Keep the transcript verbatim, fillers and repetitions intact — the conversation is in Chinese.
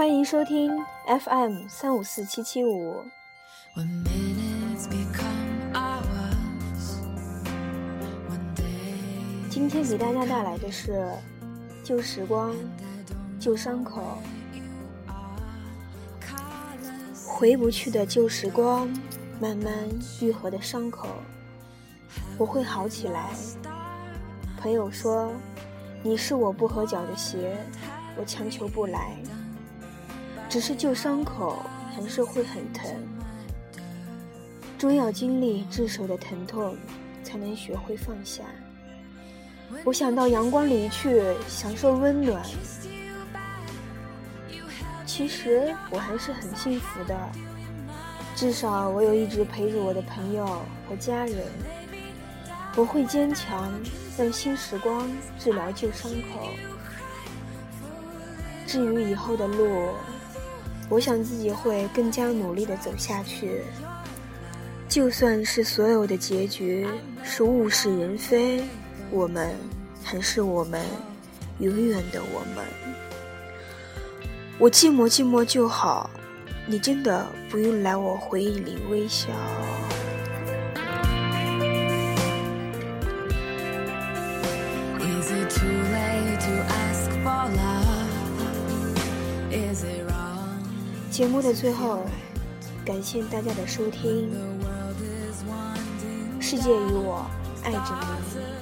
欢迎收听 F M 三五四七七五。今天给大家带来的是旧时光，旧伤口。回不去的旧时光，慢慢愈合的伤口，我会好起来。朋友说，你是我不合脚的鞋，我强求不来。只是旧伤口还是会很疼，终要经历炙手的疼痛，才能学会放下。我想到阳光里去，享受温暖。其实我还是很幸福的，至少我有一直陪着我的朋友和家人。我会坚强，让新时光治疗旧伤口。至于以后的路，我想自己会更加努力地走下去。就算是所有的结局是物是人非，我们还是我们，永远的我们。我寂寞寂寞就好，你真的不用来我回忆里微笑。节目的最后，感谢大家的收听。世界与我爱着你。